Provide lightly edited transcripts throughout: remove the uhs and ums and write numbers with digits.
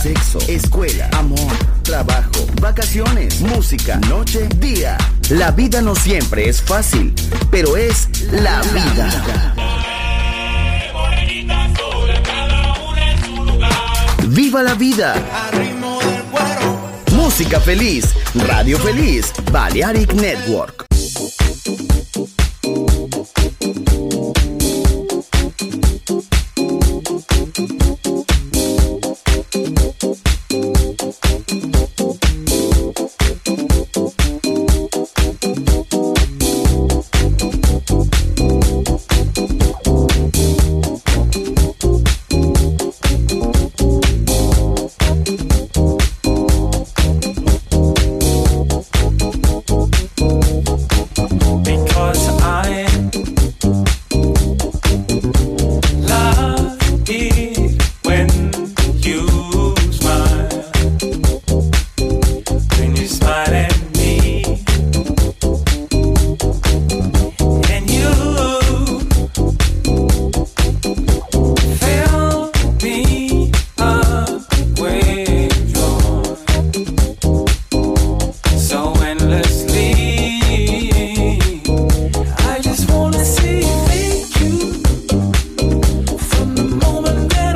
sexo, escuela, amor, trabajo, vacaciones, música, noche, día. La vida no siempre es fácil, pero es la vida. ¡Viva la vida! Música feliz, radio feliz, Balearic Network. Moment that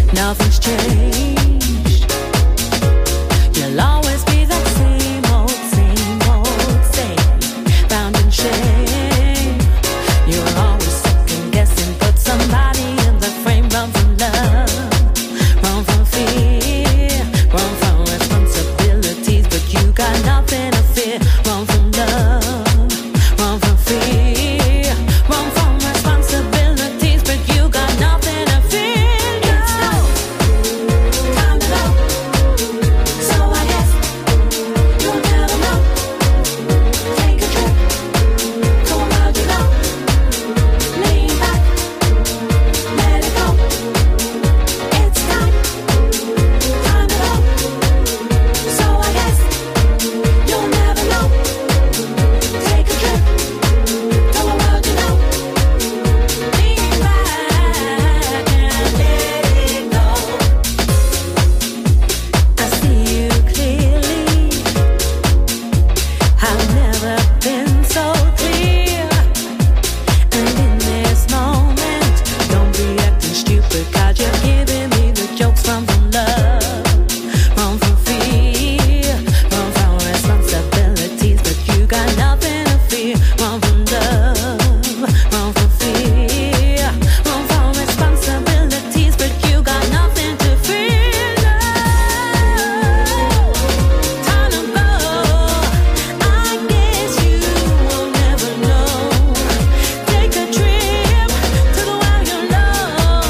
nothing's changed. You'll always be that same old, same, bound in shame. You're always second guessing, put somebody in the frame. Run from love, run from fear, run from responsibilities, but you got nothing to fear. Run from love, run from fear, run from responsibilities, but you got nothing to fear. It's time to go. So I guess you'll never know. Take a trip to a world you know. Lean back, let it go. It's time to go. So I guess you'll never know. Take a trip to a world you know. Lean back and let it go. I see you clearly. I've never been so clear. And in this moment, don't be acting stupid, 'cause you're giving me the jokes. Run from love, run from fear, run from responsibilities, but you got nothing to fear. Run from love, run from fear, run from responsibilities, but you got nothing to fear. No, time to go. I guess you will never know. Take a trip to the world you know.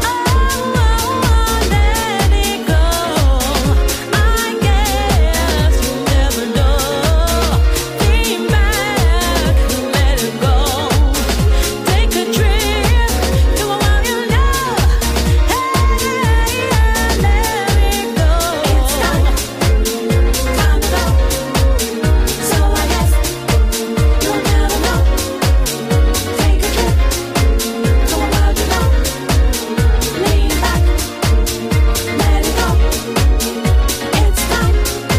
Oh, let it go. I guess you'll never know. Lean back, let it go. Take a trip to a world you know. Hey, let it go. It's time to go. So I guess you'll never know. Take a trip to a world you know. Lean back, let it go. It's time to go.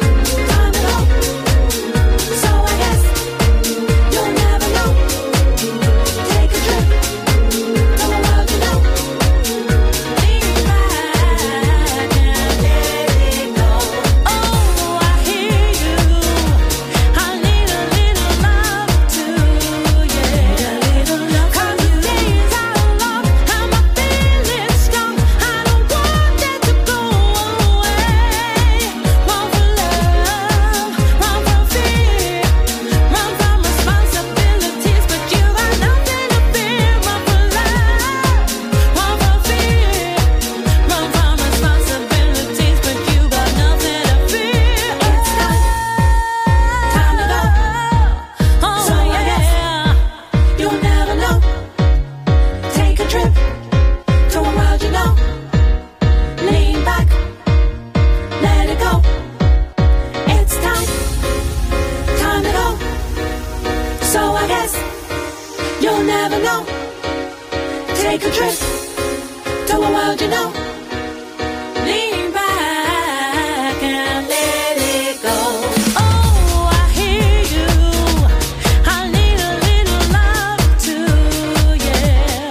So I guess you'll never know. Take a trip to a world you know. Lean back and let it go. Oh, I hear you. I need a little love too, yeah. A little love. 'Cause the days are long and my feelings strong. I don't want that to go away. Run for love, run from fear, run from responsibilities, but you got nothing to fear. Run for love, run from fear, run from responsibilities, but you got nothing to fear. It's time to go. Oh, so yeah, you'll never know. Take a trip to a world you know. Lean back, let it go. It's time to go. So I guess you'll never know. Take a trip to a world you know. Lean back and let it go. Oh, I hear you. I need a little love too, yeah.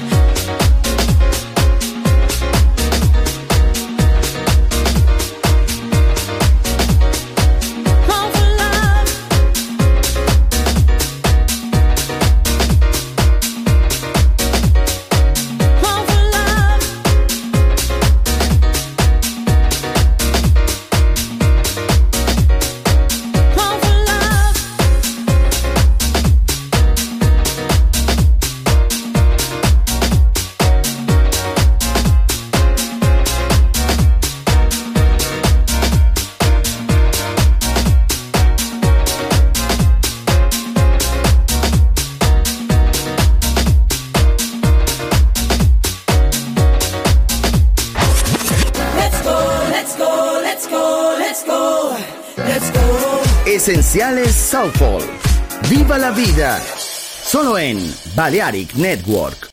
Run for love, run for love. Esenciales Soulful. Viva la vida. Solo en Balearic Network.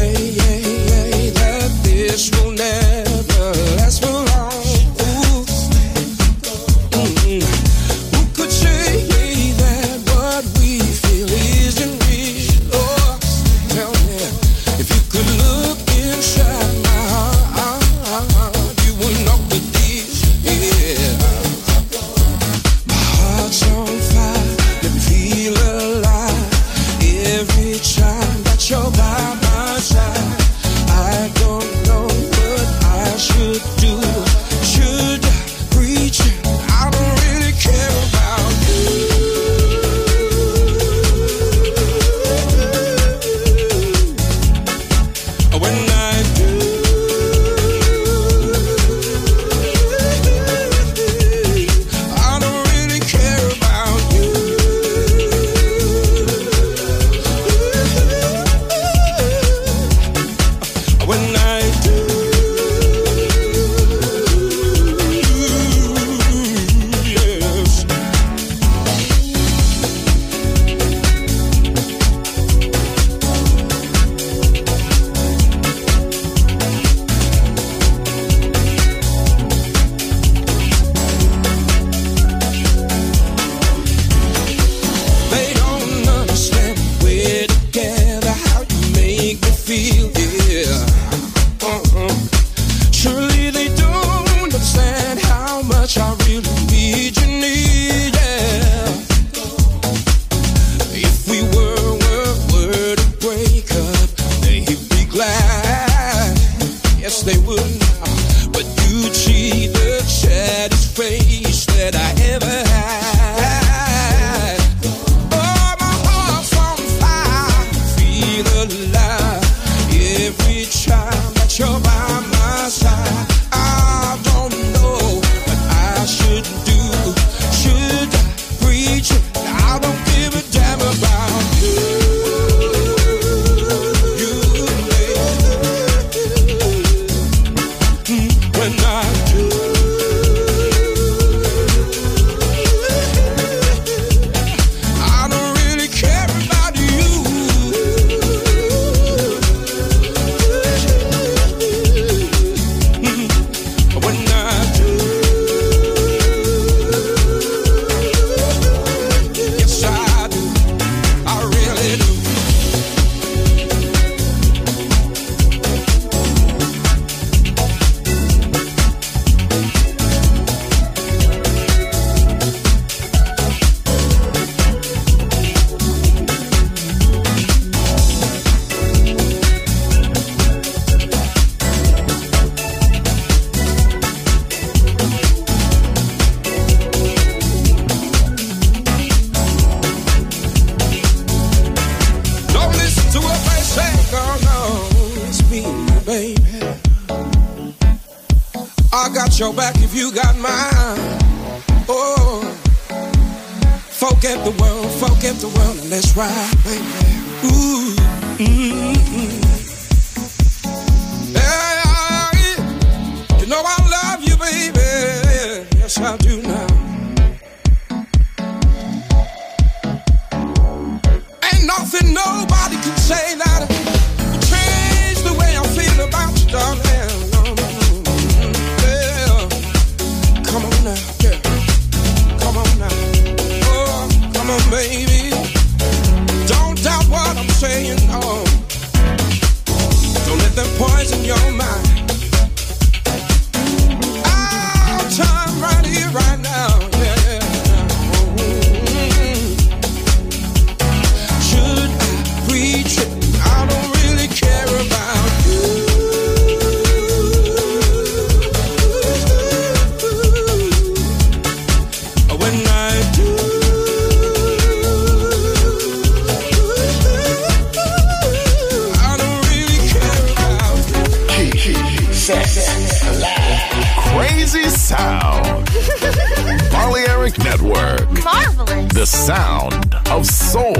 that this will never last for long. Ooh. Who could say that what we feel isn't real? Oh, tell me, if you could look inside my heart, you would know the deal. Yeah, my heart's on fire, let me feel alive every time that you're by my side. I don't know what I should do. Should I preach it? I don't really care about you. When I do, I don't really care about you. When I do, yes. They don't understand we're together, how you make me feel, yeah. Surely they don't understand how much I really need you, yeah. If we were to break up, they'd be glad. Yes, they would now. But you'd see the saddest face that I ever had. Oh, my heart's on fire, feel alive every time that you're by my side. I don't know what I should do. Should I preach it? I don't give a damn about you. When I do, I don't really care about you. When I do, yes I do, I really do. Don't listen to what they say, no, it's me, baby. I got your back if you got mine. Oh, forget the world, and let's ride, baby. Ooh, yeah, you know I love you, baby. Yes, I do now. Ain't nothing nobody can say that change the way I feel about you, darling. Yeah. Come on now, yeah. Come on now. Oh, come on, baby. Don't doubt what I'm saying, no. Don't let them poison your mind. I'll time right here, right now, yeah. Should I preach it? I don't really care about you. When I do, I don't really care about you. Crazy Sound. Balearic Network. Marvelous. The sound of soul.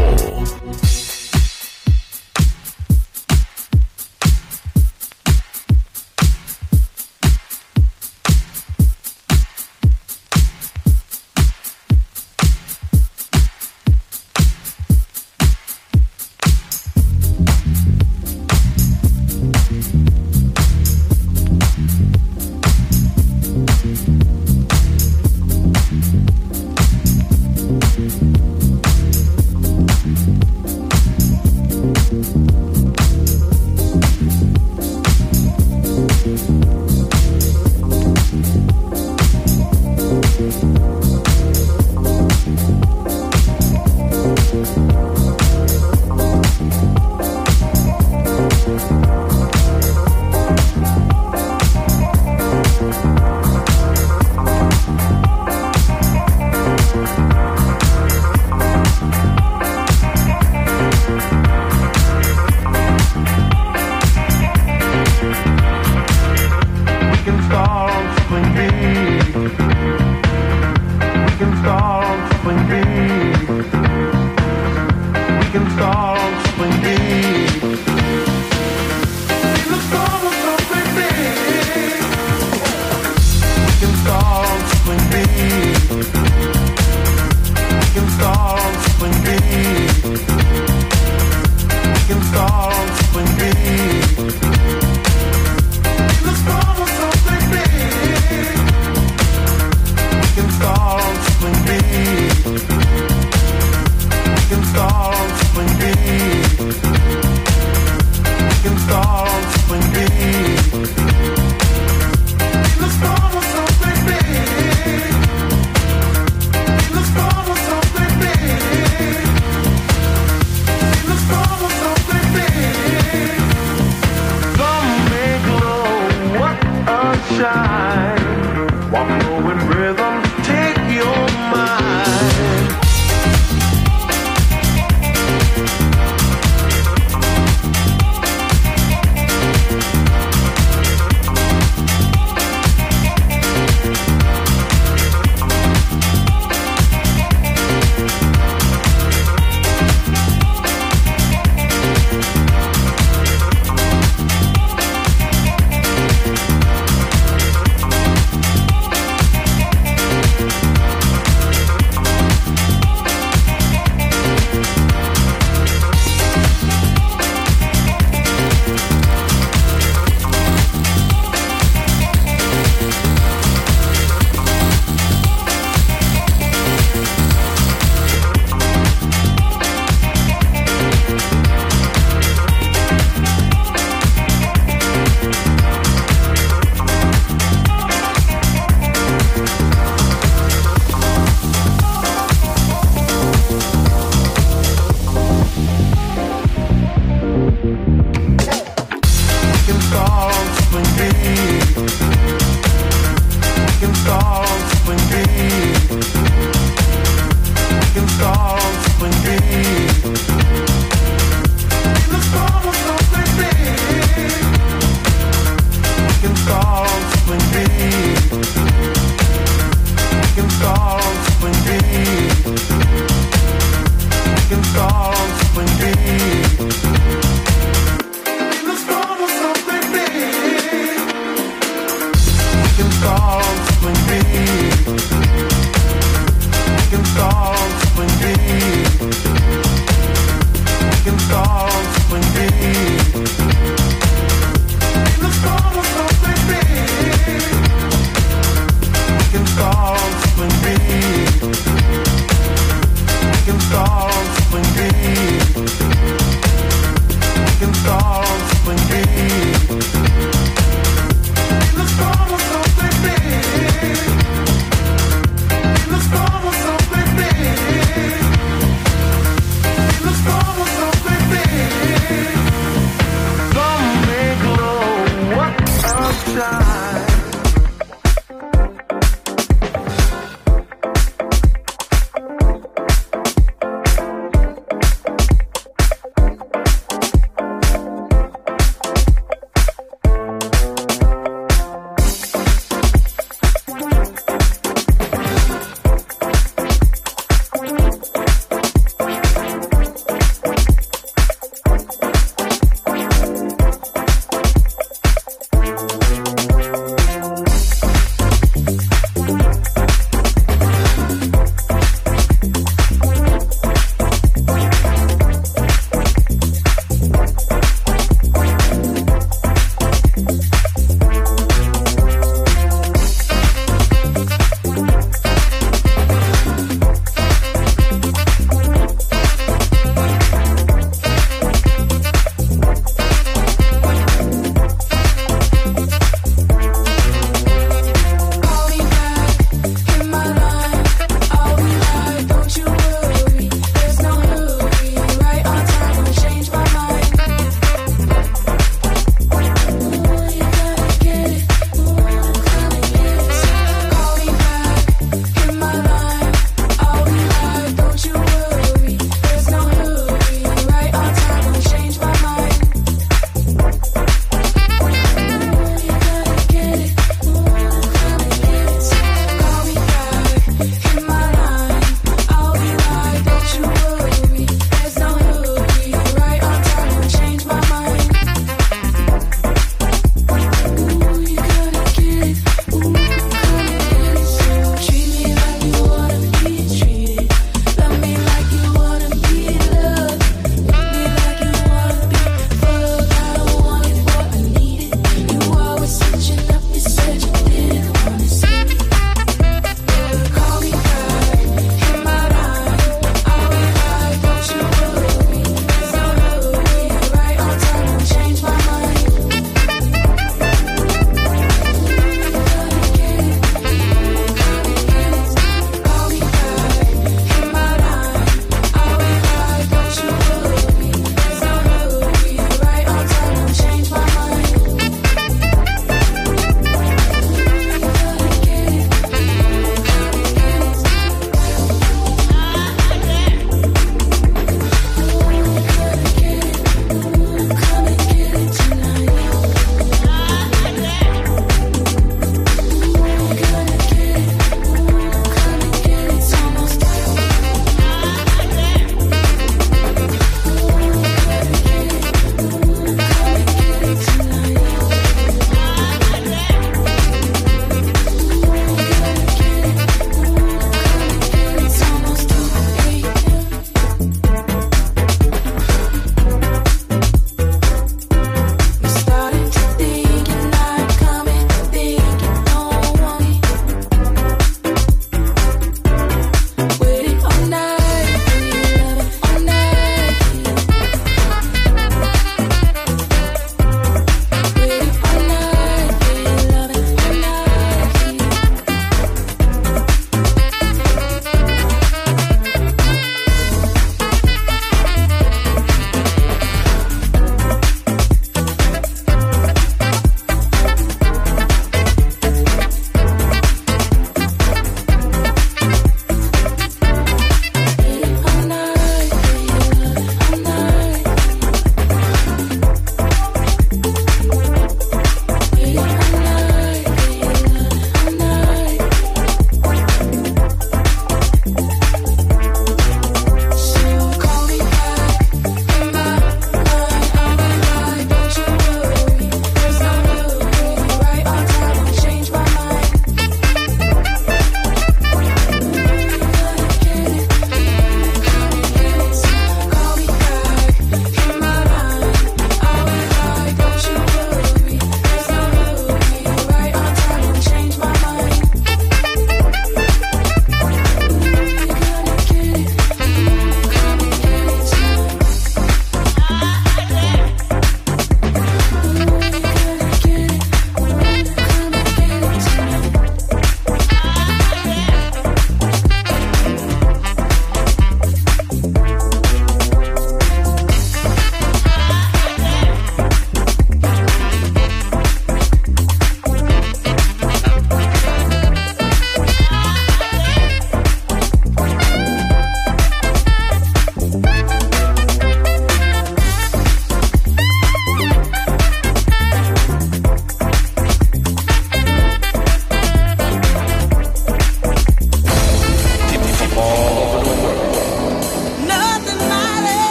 Come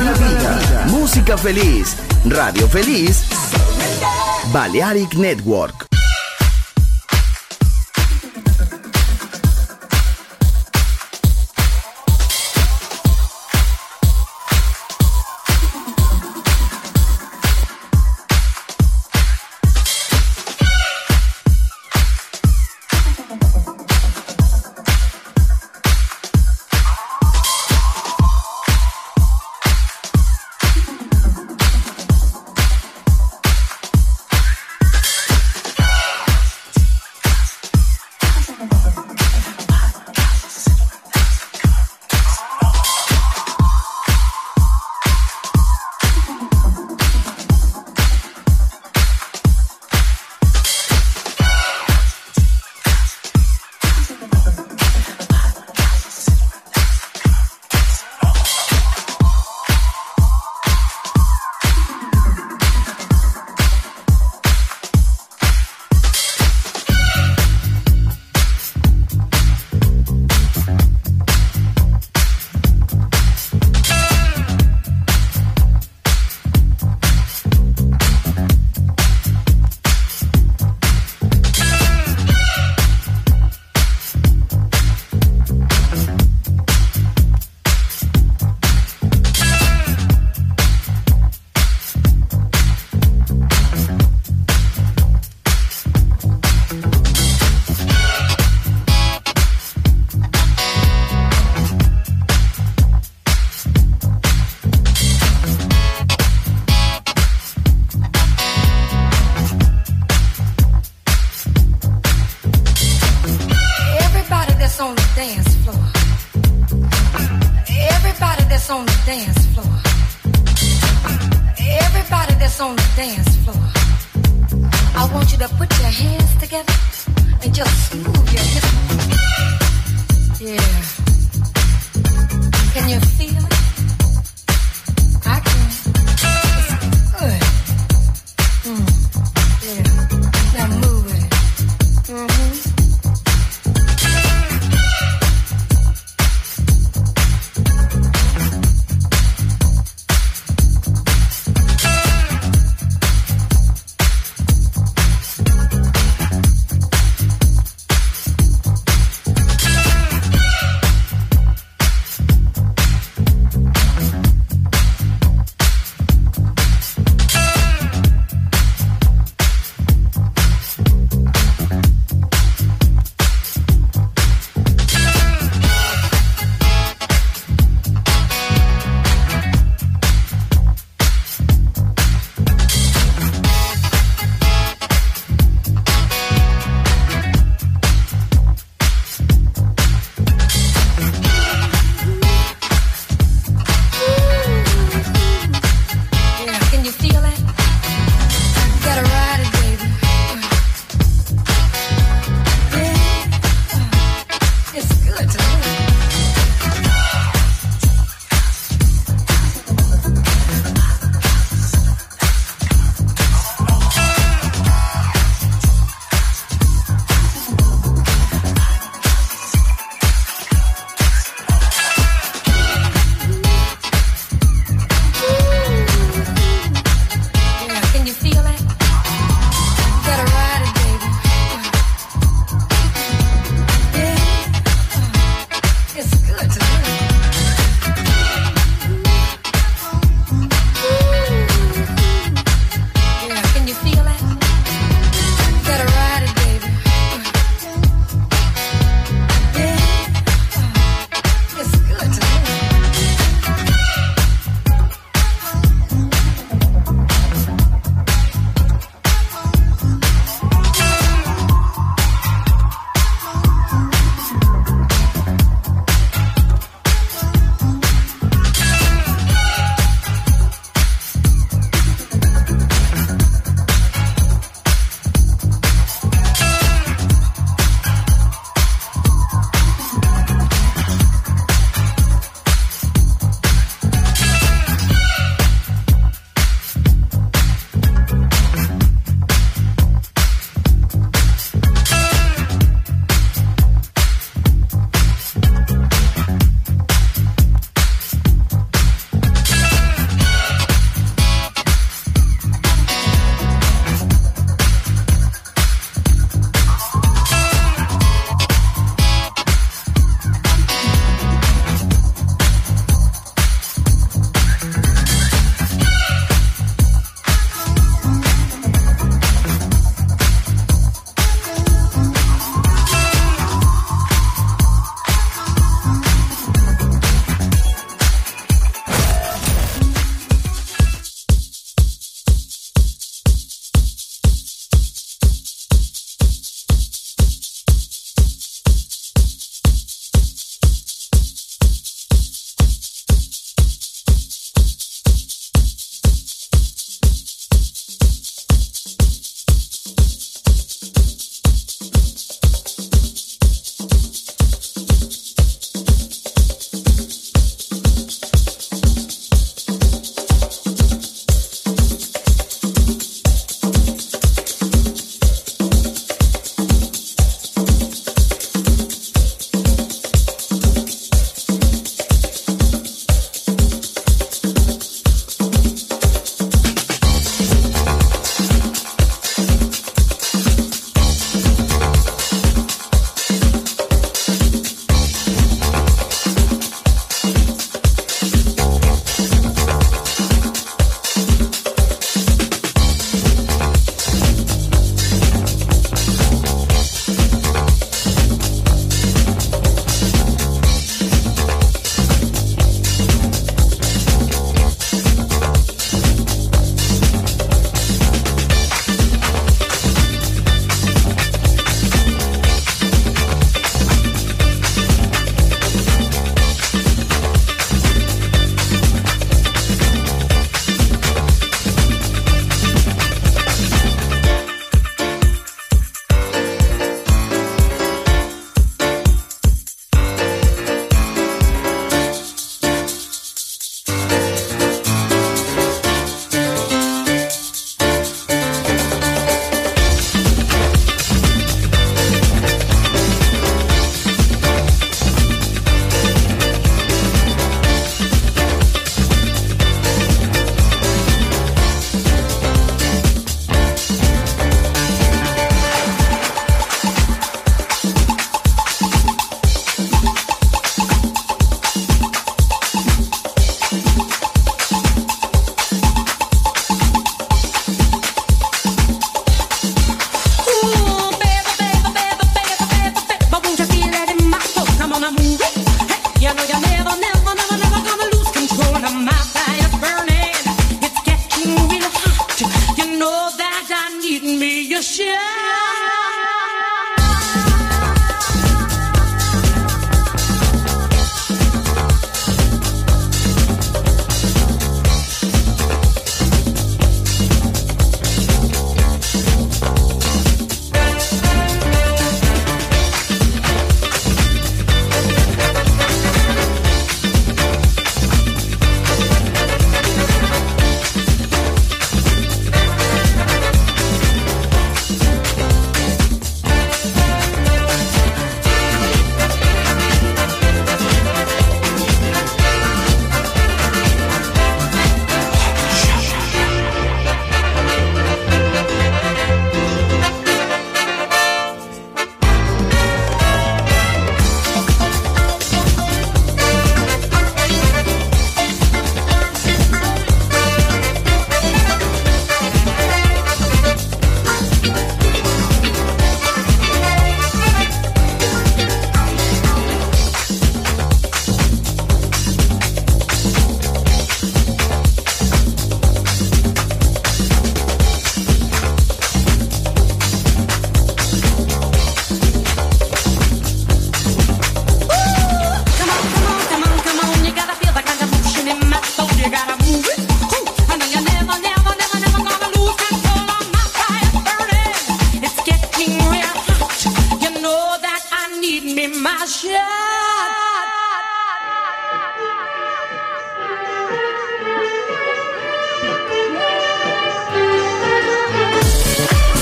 la vida. Música feliz. Radio feliz. Balearic Network.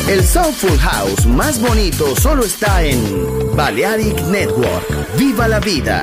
El Soulful House más bonito solo está en Balearic Network. ¡Viva la vida!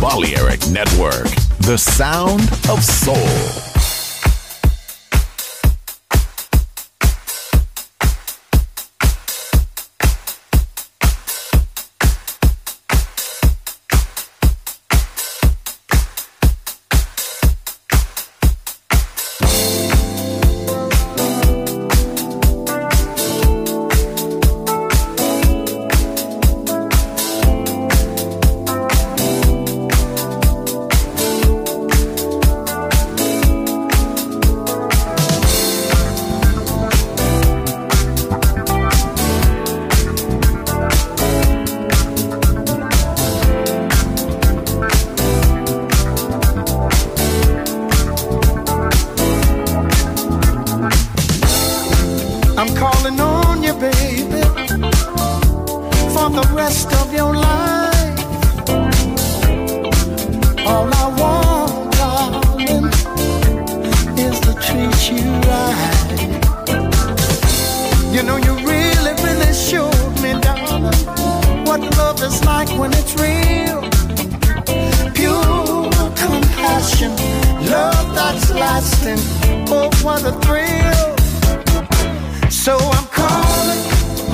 Balearic Network, the sound of soul. I'm calling on you, baby, for the rest of your life. All I want, darling, is to treat you right. You know, you really, really showed me, darling, what love is like when it's real. Pure compassion, love that's lasting. Oh, what a thrill. So I'm calling,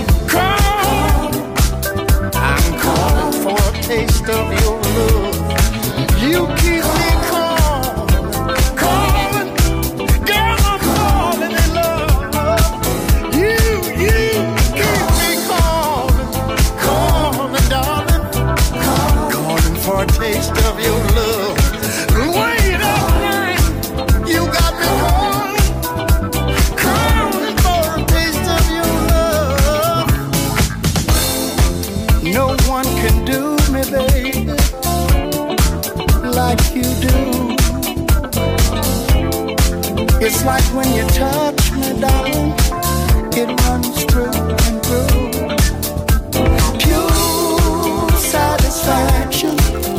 I'm calling for a taste of your love. You keep me calling, girl, I'm falling in love. You keep me calling, darling, calling for a taste of your love. Wait up, you got me calling for a taste of your love. No one can do me, baby, like you do. It's like when you touch me, darling, it runs through and through. Pure satisfaction,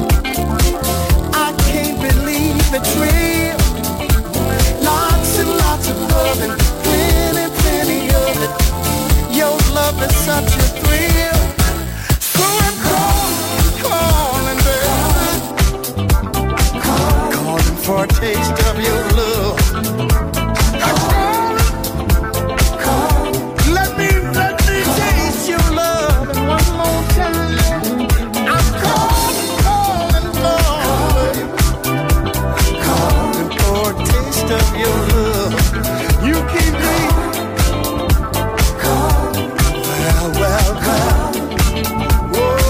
I can't believe it's real. Lots and lots of loving, plenty of it. Your love is such a thrill. So I'm calling, baby, calling for a taste of your love. I'm calling, let me taste your love one more time. I'm calling for a taste of your love. You keep me well. Whoa.